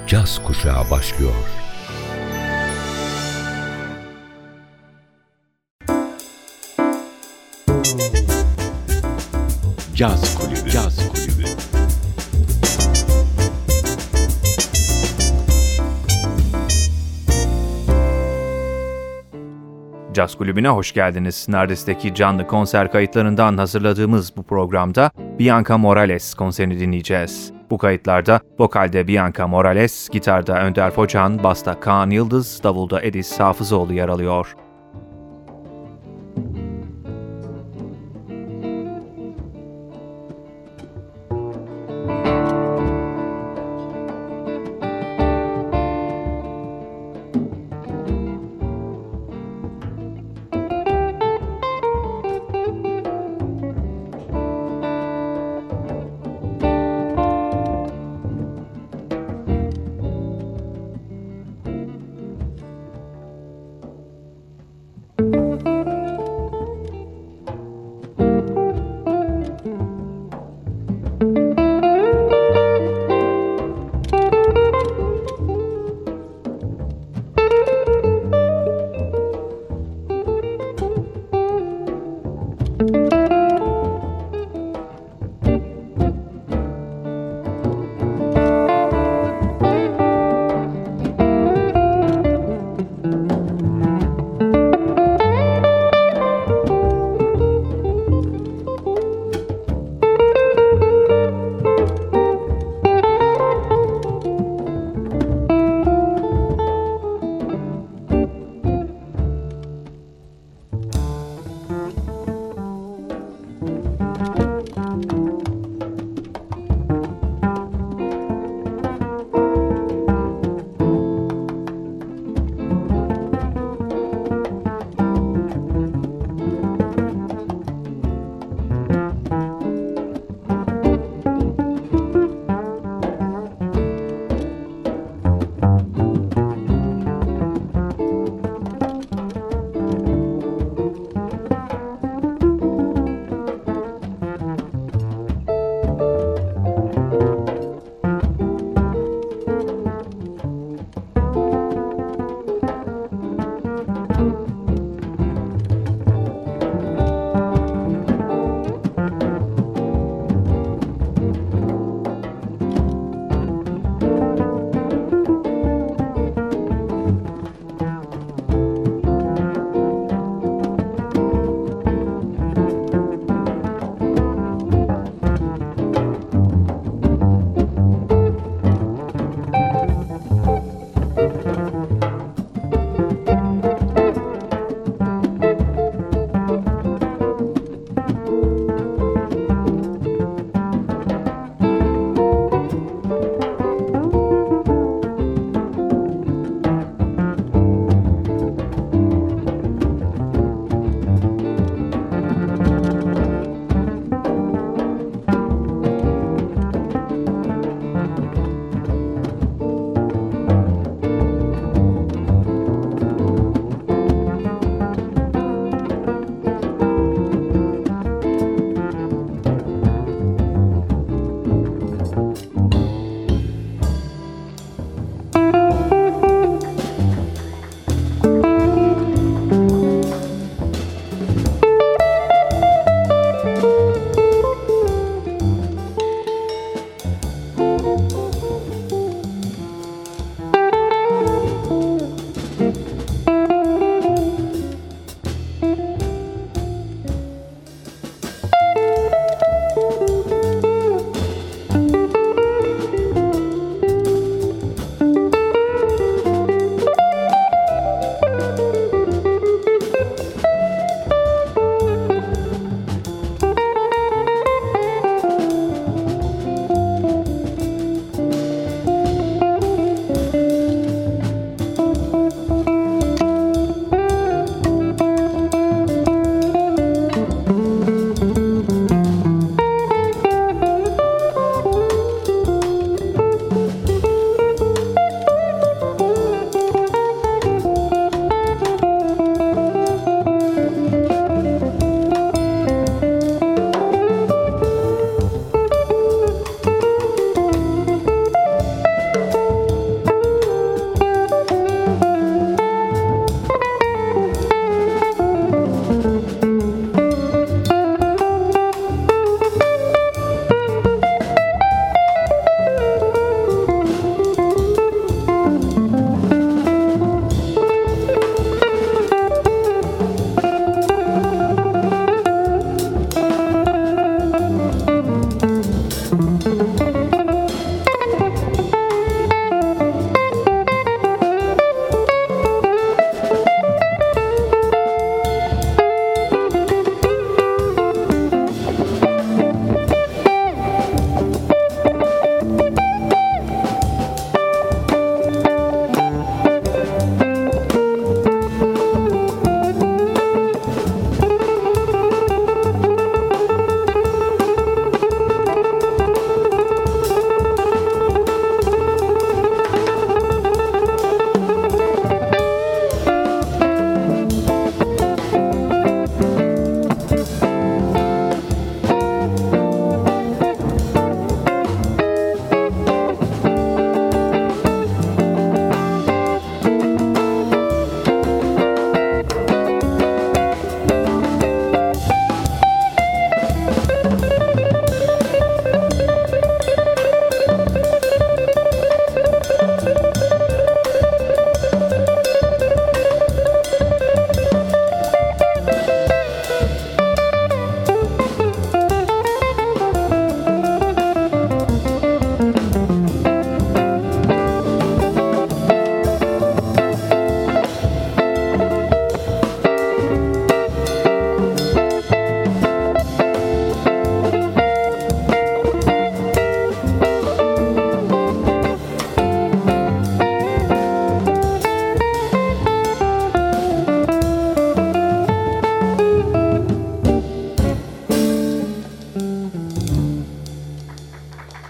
caz kuşağı başlıyor. Caz Kulübü. Caz Kulübü. Caz Kulübü'ne hoş geldiniz. Nardes'teki canlı konser kayıtlarından hazırladığımız bu programda Bianca Morales konserini dinleyeceğiz. Bu kayıtlarda vokalde Bianca Morales, gitarda Önder Focan, basta Kaan Yıldız, davulda Edis Hafızoğlu yer alıyor.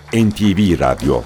NTV Radyo.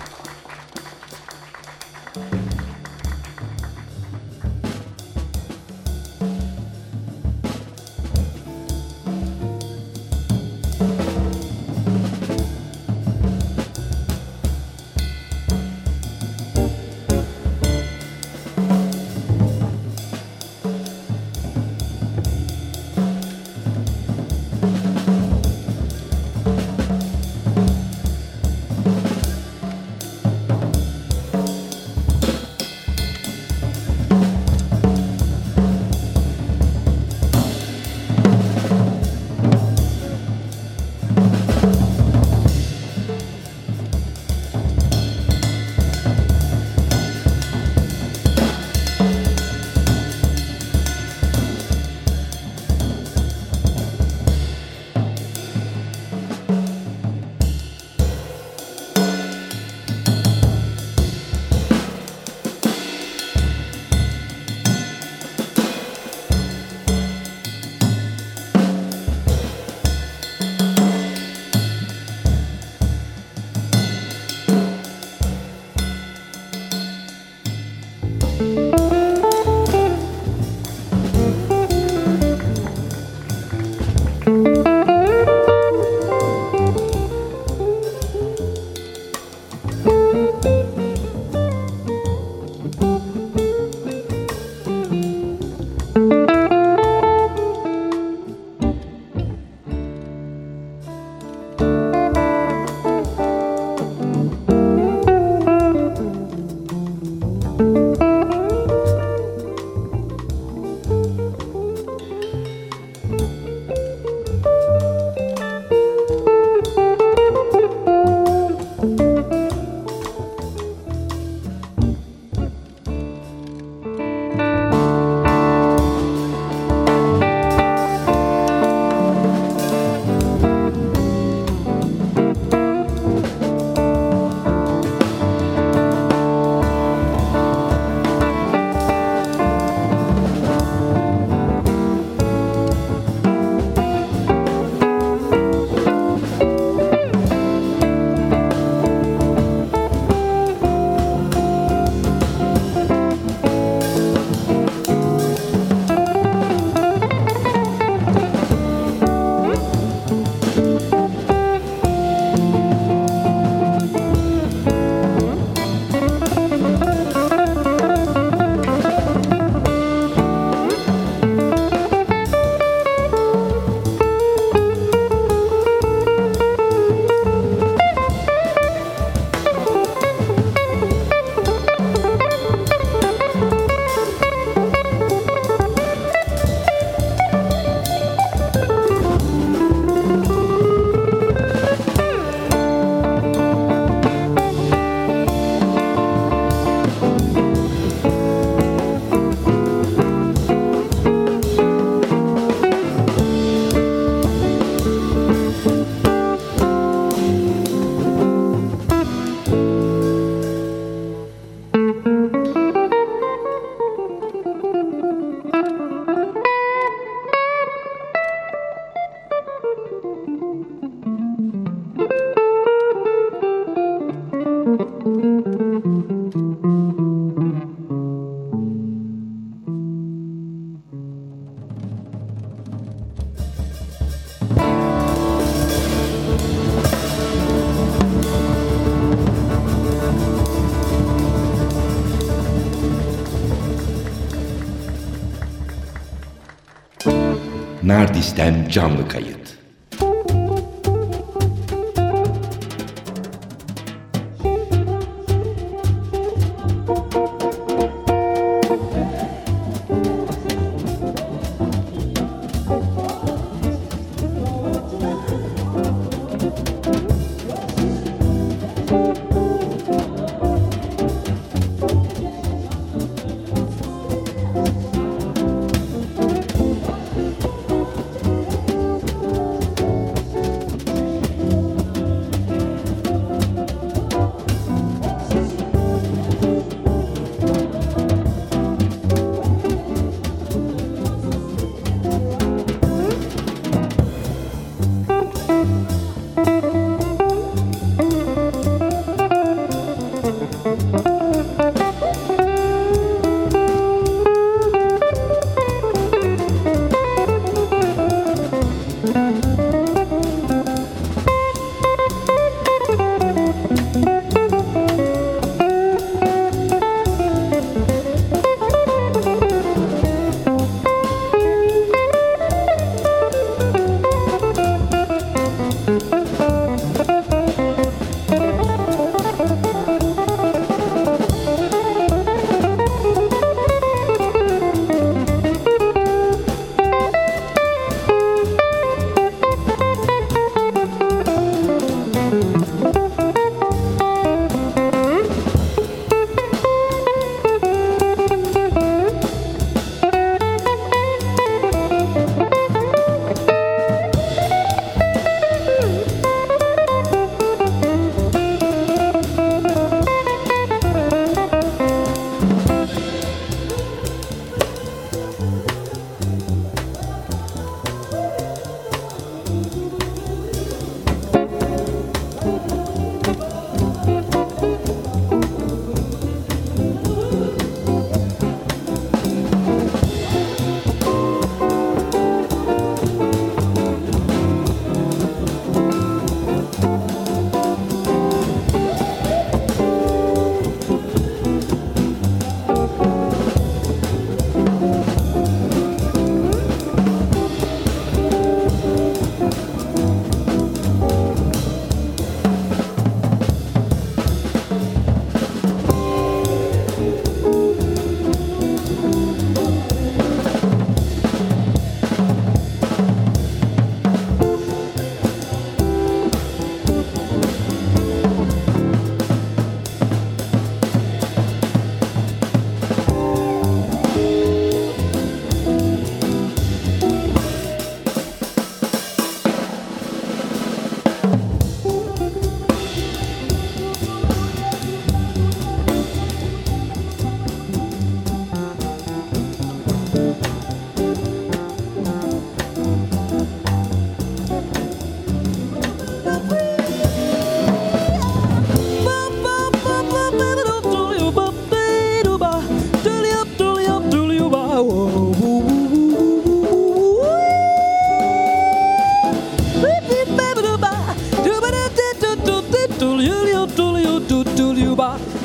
Nardis'ten canlı kayıt.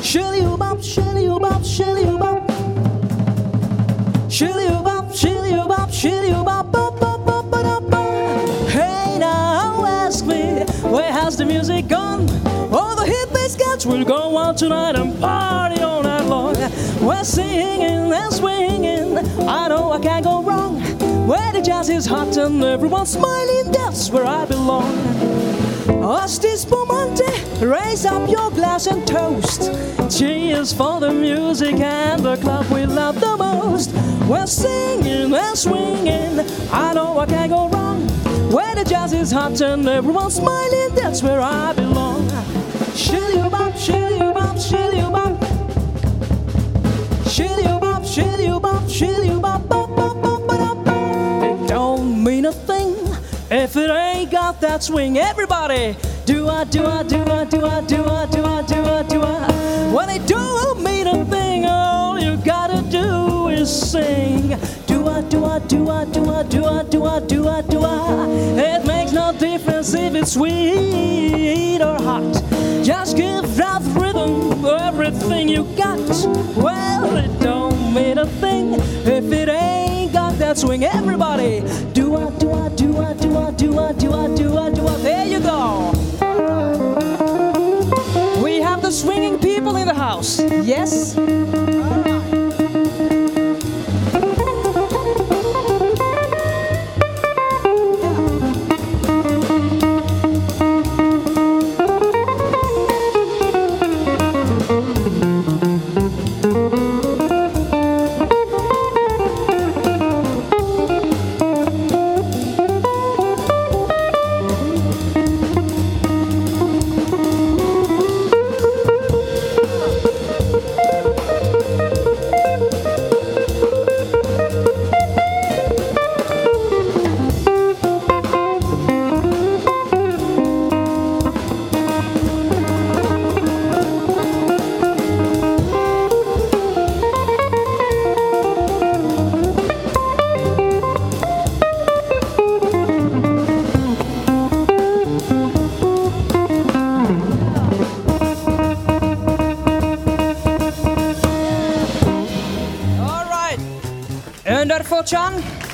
Shilly-oo-bop, shilly-oo-bop, shilly-oo-bop. Shilly-oo-bop, shilly-oo-bop, shilly-oo-bop, bop, bop, bop, ba-da, bop. Hey now, ask me, where has the music gone? All the hippie scouts will go out tonight and party all night long. We're singing and swinging, I know I can't go wrong. Where the jazz is hot and everyone's smiling, that's where I belong. Asti spumante, raise up your glass and toast. Cheers for the music and the club we love the most. We're singing and swinging, I know I can't go wrong. Where the jazz is hot and everyone's smiling, that's where I belong. Shilly-oo-bop, shilly-oo-bop, shilly-oo-bop. Shilly-oo-bop, shilly-oo-bop, shilly-oo-bop, bop, bop, bop, ba-da, bop. It don't mean a thing if it ain't got that swing. Everybody, do-a, do-a, do-a, do-a, do-a, do-a, do-a, do-a. When it don't mean a thing, all you gotta do is sing. Do-a, do-a, do-a, do-a, do-a, do-a, do-a, do-a. It makes no difference if it's sweet or hot. Just give that rhythm everything you got. Well, it don't mean a thing if it ain't got that swing. Everybody, do-a, do-a, do-a, do-a, do-a, do-a, do-a, do-a. There you go. We have the swinging people in the house. Yes? Fortune.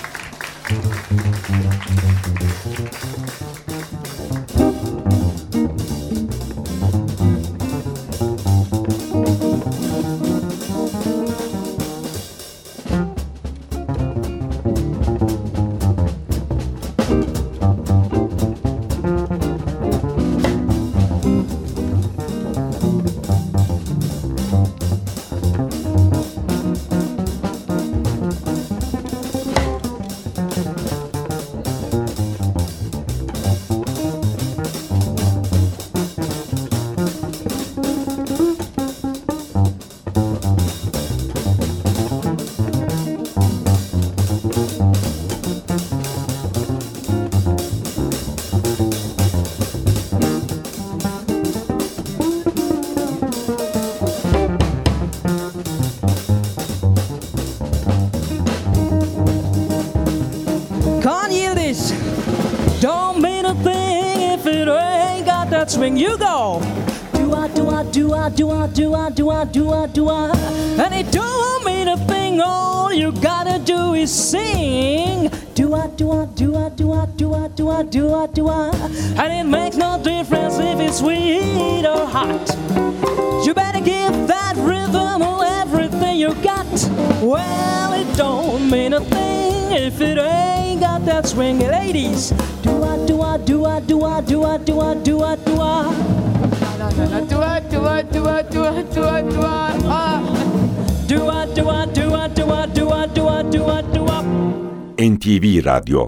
Don't mean a thing if it ain't got that swing. You go. Do-a, do-a, do-a, do-a, do-a, do-a, do-a, do-a. And it don't mean a thing. All you gotta do is sing. Do-a, do-a, do-a, do-a, do-a, do-a, do-a, do-a. And it makes no difference if it's sweet or hot. You better give that rhythm everything you got. Well, it don't mean a thing if it ain't got that swing. Ladies, do-a, do-a, do-a, do-a, do-a, do-a, do-a, do-a. Do-a, do-a, do-a, do-a, do-a, do-a. Do-a, do-a, do-a, do-a, do-a, do-a, do-a, do-a. NTV Radyo.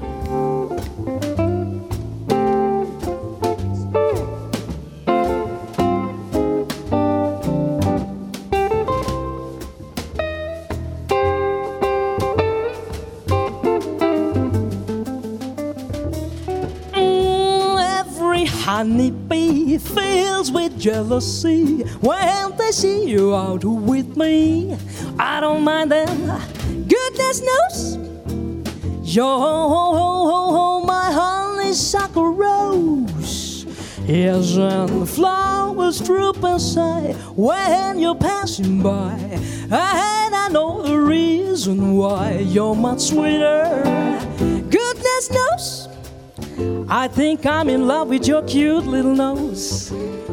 Honeybee fills with jealousy when they see you out with me. I don't mind them, goodness knows. You're my honeysuckle rose. Yes, and the flowers droop and sigh when you're passing by. And I know the reason why you're much sweeter. Goodness knows, I think I'm in love with your cute little nose.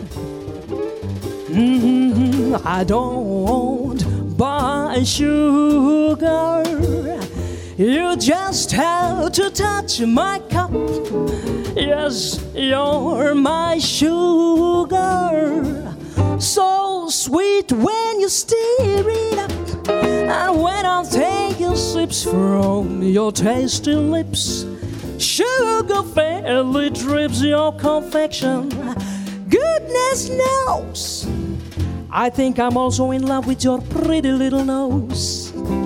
I don't buy sugar. You just have to touch my cup. Yes, you're my sugar. So sweet when you stir it up, and when I take your sips from your tasty lips, sugar fairly drips your confection. Goodness knows, I think I'm also in love with your pretty little nose.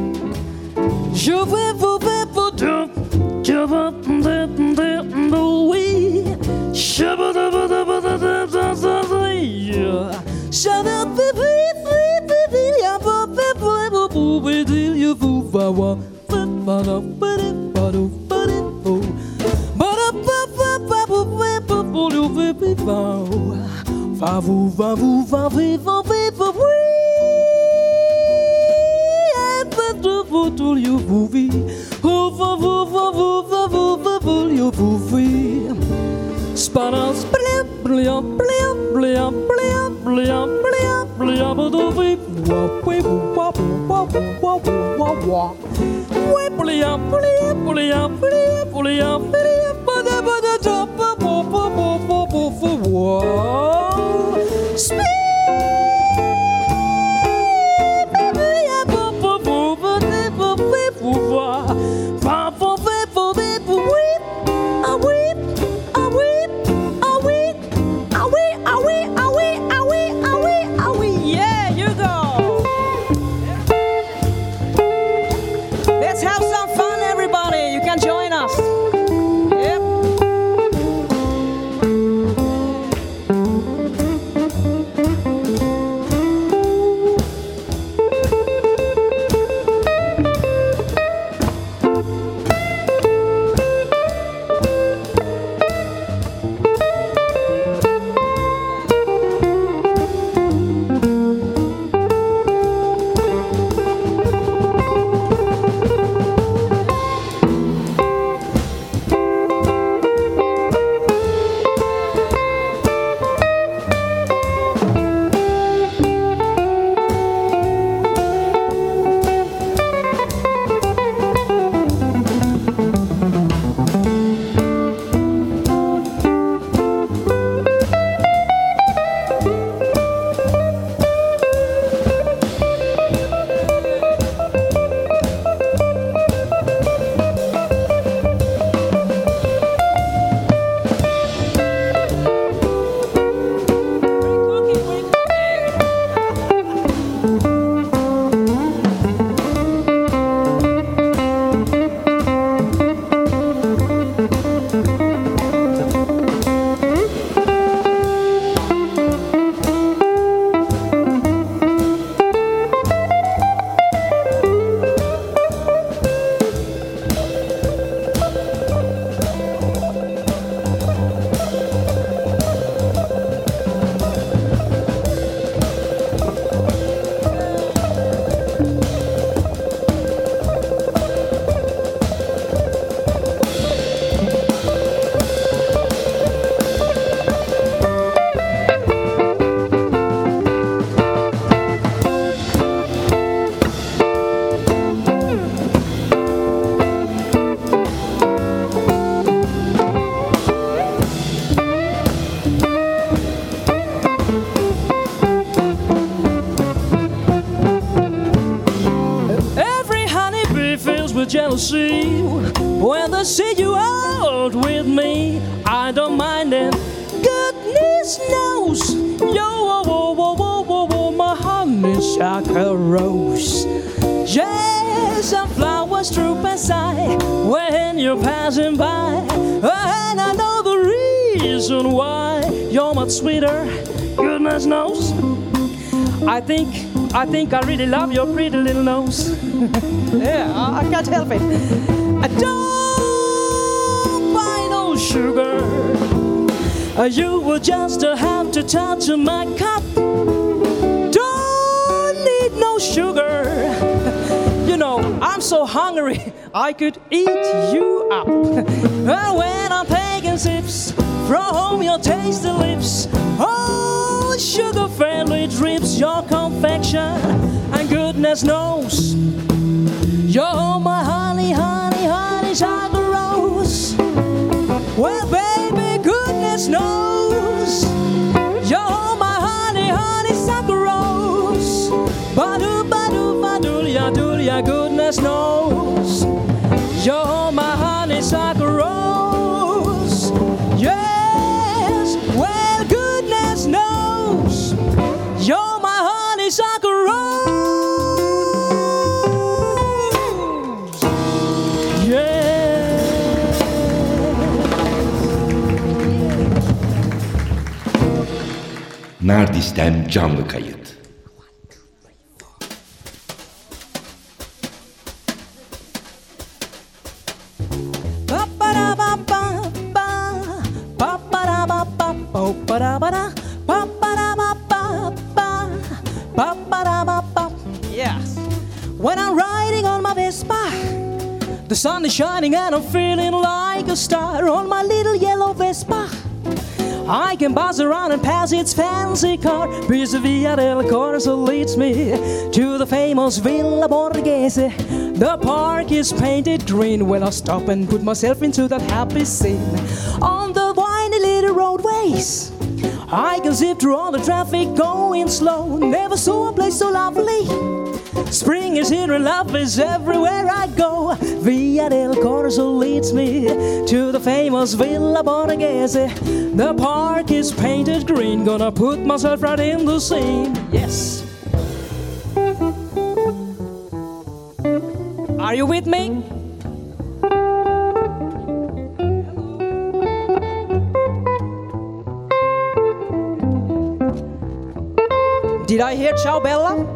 Yeah, you go. Let's have some fun, everybody. You can join us. Yep. Jealousy when they see you out with me. I don't mind it. Goodness knows, yo, my honeysuckle rose. Yes, and flowers droop and sigh when you're passing by, and I know the reason why you're much sweeter. Goodness knows, I think I really love your pretty little nose. Yeah, I can't help it. I don't buy no sugar. You will just have to touch my cup. Don't need no sugar. You know, I'm so hungry, I could eat you up. When I'm taking sips from your tasty lips, oh, sugar fairly drips your confection. And goodness knows, you're my honey, honey, honey, chocolate rose. Well, baby, goodness knows, you're my honey, honey, chocolate rose. Ba-doo, ba-doo, ba-doo, ya-doo, ya, goodness knows, you're my honey, chocolate rose. Yes, well, goodness knows, you're my honey, chocolate rose. Nardis'ten canlı kayıt. Yes. When I'm riding on my Vespa, the sun is shining and I'm feeling like a star on my little yellow Vespa. I can buzz around and pass its fancy car. Because Via del Corso leads me to the famous Villa Borghese. The park is painted green. Well, I stop and put myself into that happy scene. On the windy little roadways, I can zip through all the traffic going slow. Never saw a place so lovely. Spring is here and love is everywhere I go. Via del Corso leads me to the famous Villa Borghese. The park is painted green. Gonna put myself right in the scene. Yes. Are you with me? Did I hear Ciao Bella?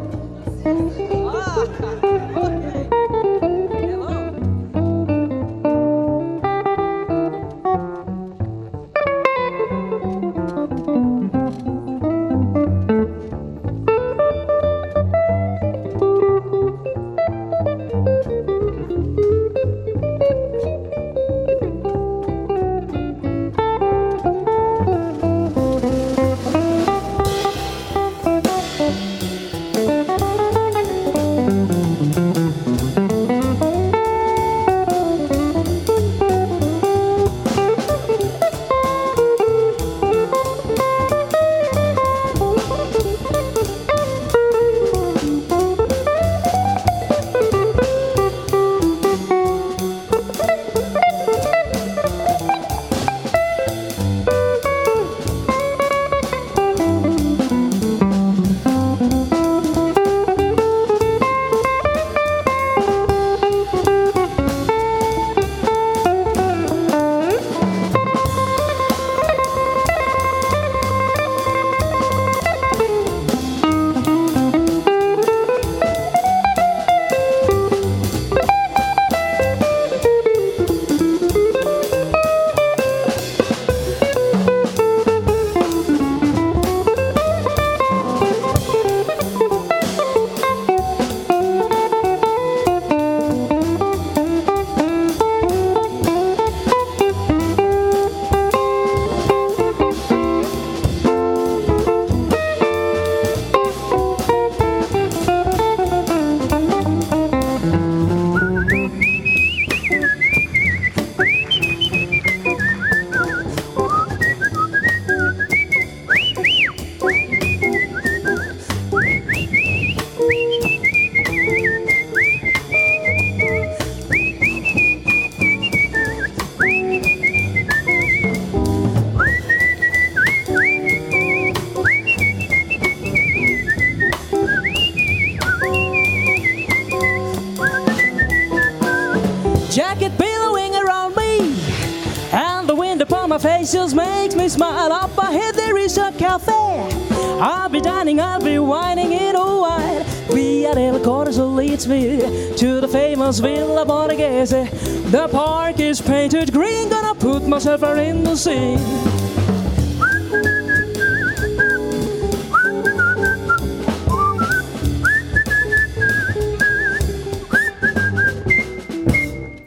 Jacket billowing around me, and the wind upon my face just makes me smile. Up ahead there is a cafe. I'll be dining, I'll be whining in a while. Via del Corso leads me to the famous Villa Borghese. The park is painted green. Gonna put myself right in the scene.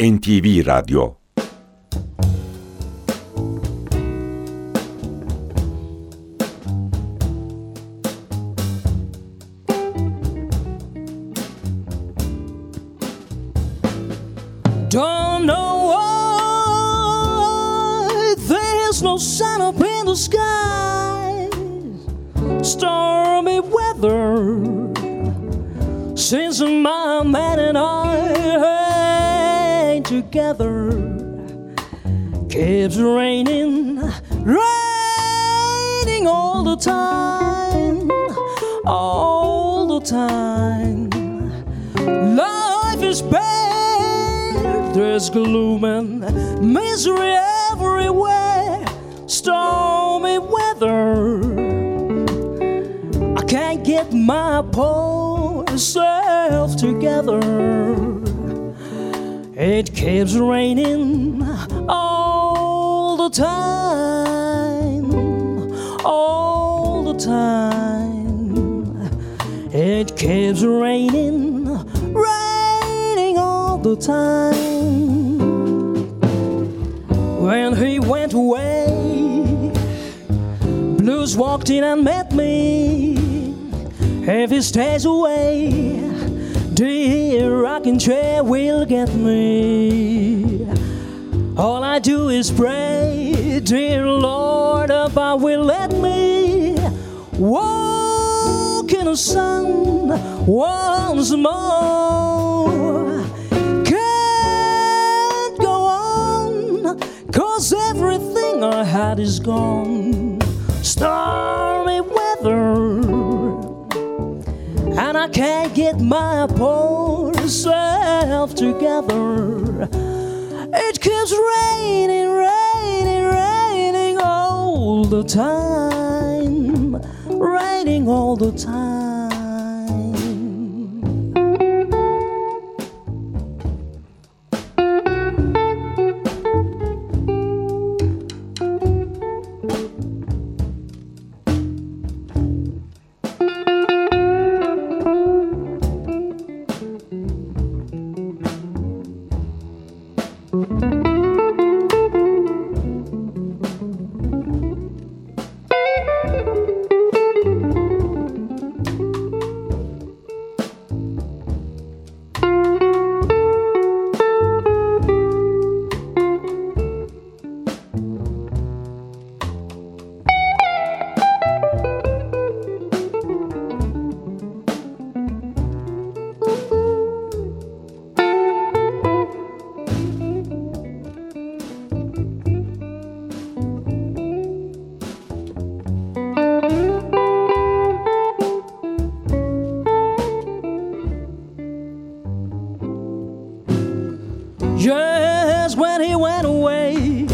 NTV Radyo. Don't know why there's no sun up in the sky. Stormy weather since my man and I ain't together. Keeps raining, raining all the time, all the time. Life is bad, there's gloom and misery everywhere. Stormy weather, I can't get my poor self together. It keeps raining all the time, all the time. It keeps raining, raining all the time. When he went away, blues walked in and met me. If he stays away, the rocking chair will get me. All I do is pray, dear Lord, above will let me walk in the sun once more. Can't go on, 'cause everything I had is gone. Stormy weather, and I can't get my poor self together. It keeps raining, raining, raining all the time, raining all the time. Yes, when he went away,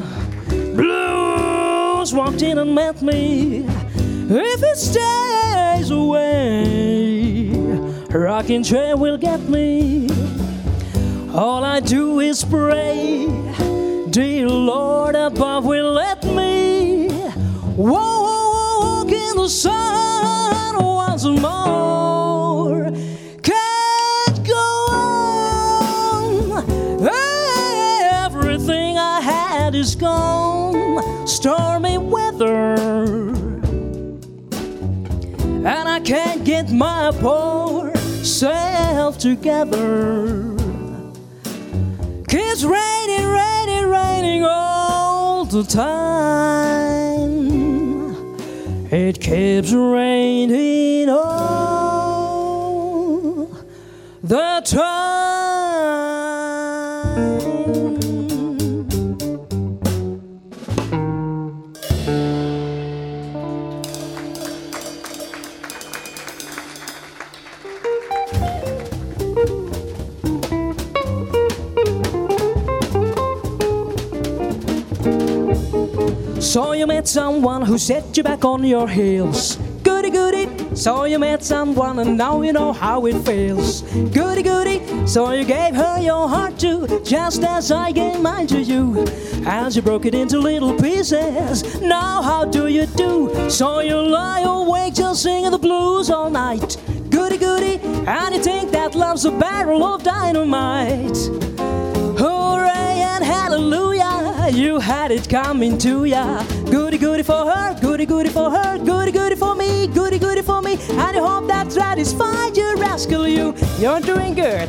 blues walked in and met me. If he stays away, rocking chair will get me. All I do is pray, dear Lord above will let me walk in the sun once more. Can't go on, everything I had is gone. Stormy weather, and I can't get my poor self together. It's raining, raining, raining all the time. It keeps raining all the time. So you met someone who set you back on your heels. Goody goody. So you met someone and now you know how it feels. Goody goody. So you gave her your heart too, just as I gave mine to you. As you broke it into little pieces, now how do you do? So you lie awake just singing the blues all night. Goody goody. And you think that love's a barrel of dynamite. Oh, and hallelujah, you had it coming to ya. Goody goody for her, goody goody for her, goody goody for me, goody goody for me. And I hope that satisfied you, rascal, you're doing good.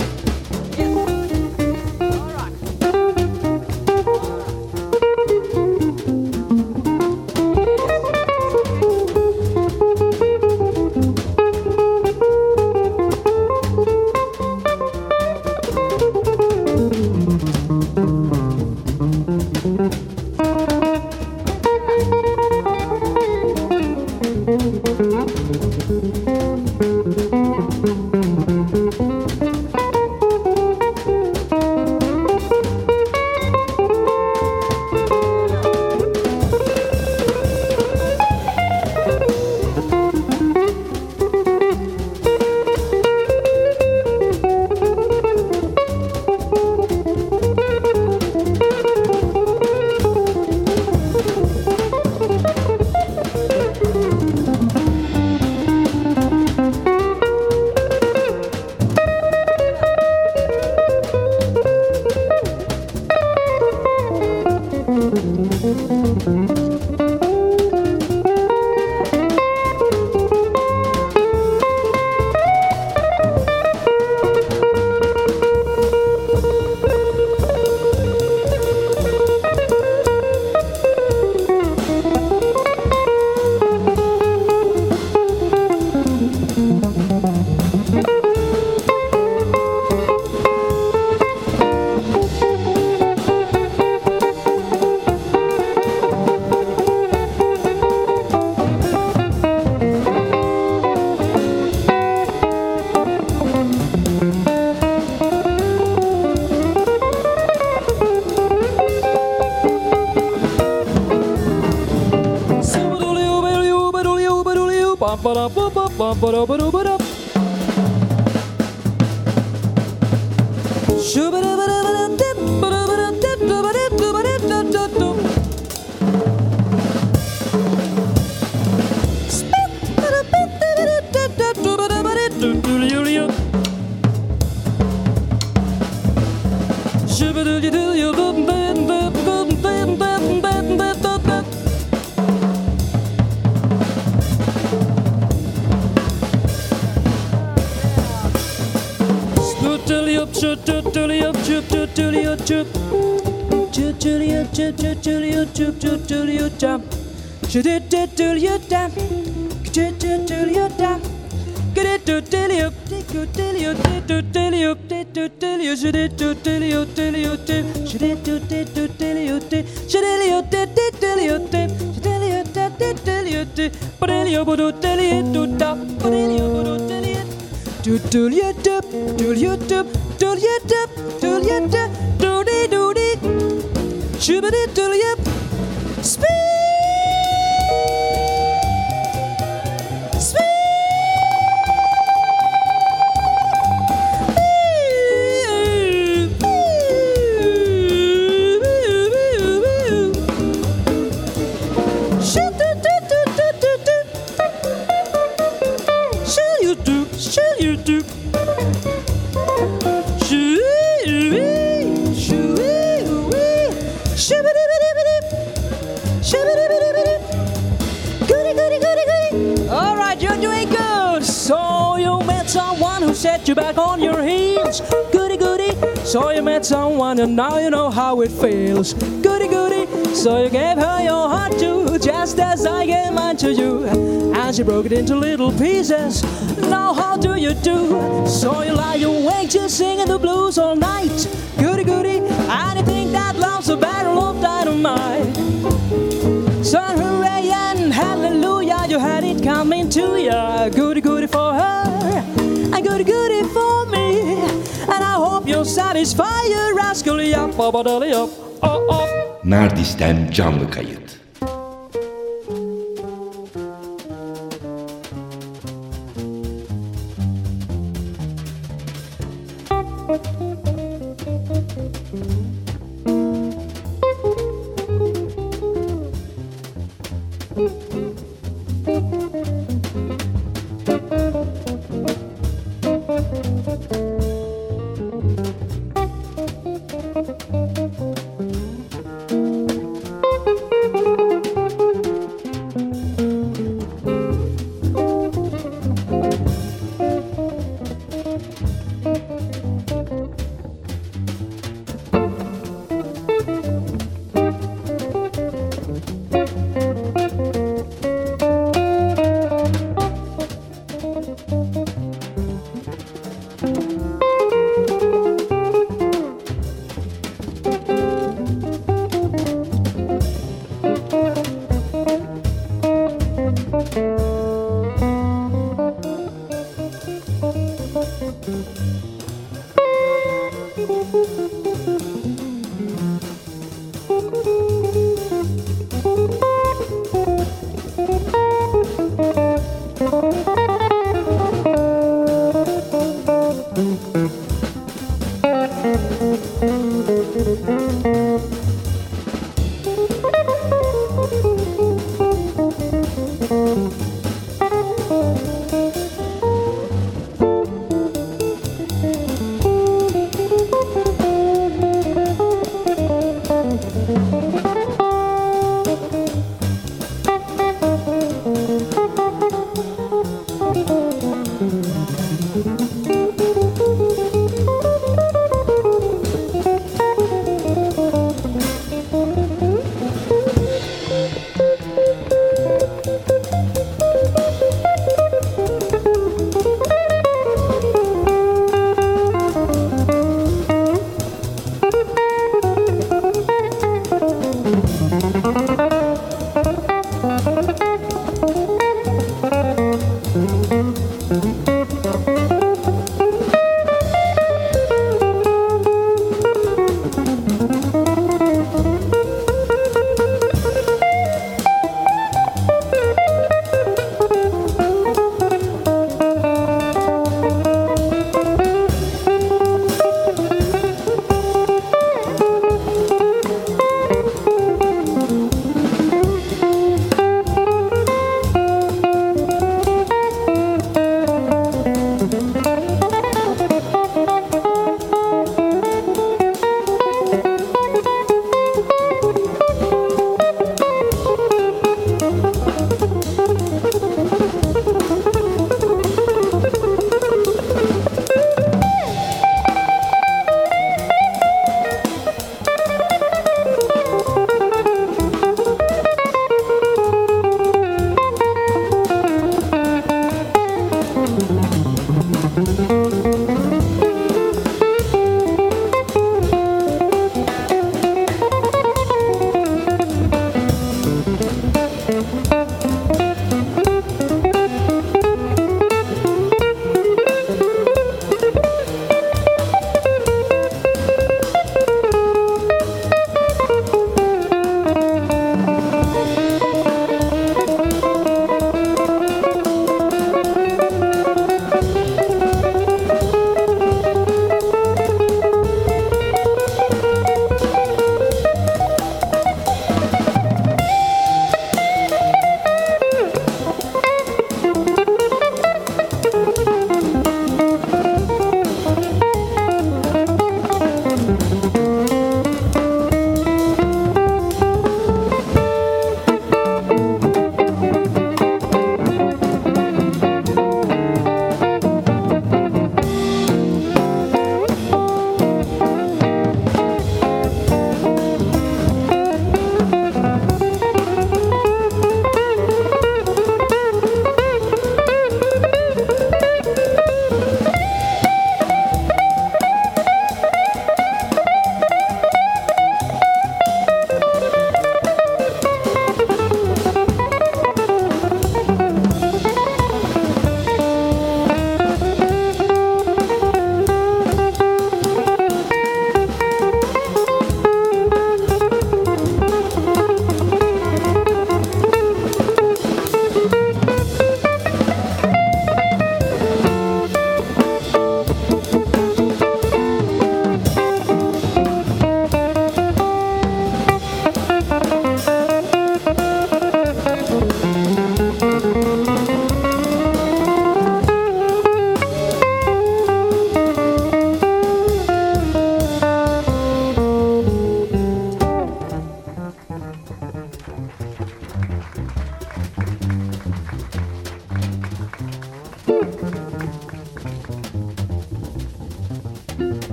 You back on your heels, goody goody. So you met someone and now you know how it feels, goody goody. So you gave her your heart too, just as I gave mine to you, and she broke it into little pieces. Now how do you do? So you lie awake just singing the blues all night, goody goody. And you think that love's a barrel of dynamite. So hooray and hallelujah, you had it coming to ya, goody goody for her, and goody goody for me. And I hope you'll satisfy your rascal. Nardis'ten canlı kayıt.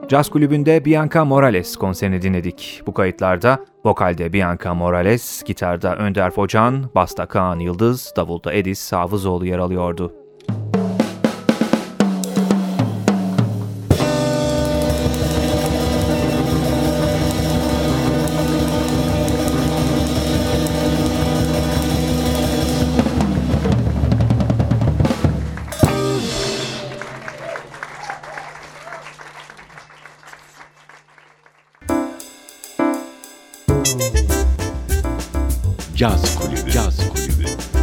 Caz Kulübü'nde Bianca Morales konserini dinledik. Bu kayıtlarda vokalde Bianca Morales, gitarda Önder Focan, basta Kaan Yıldız, davulda Edis Hafızoğlu yer alıyordu. Caz Kulübü. Caz Kulübü.